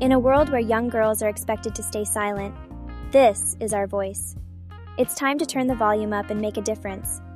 In a world where young girls are expected to stay silent, this is our voice. It's time to turn the volume up and make a difference.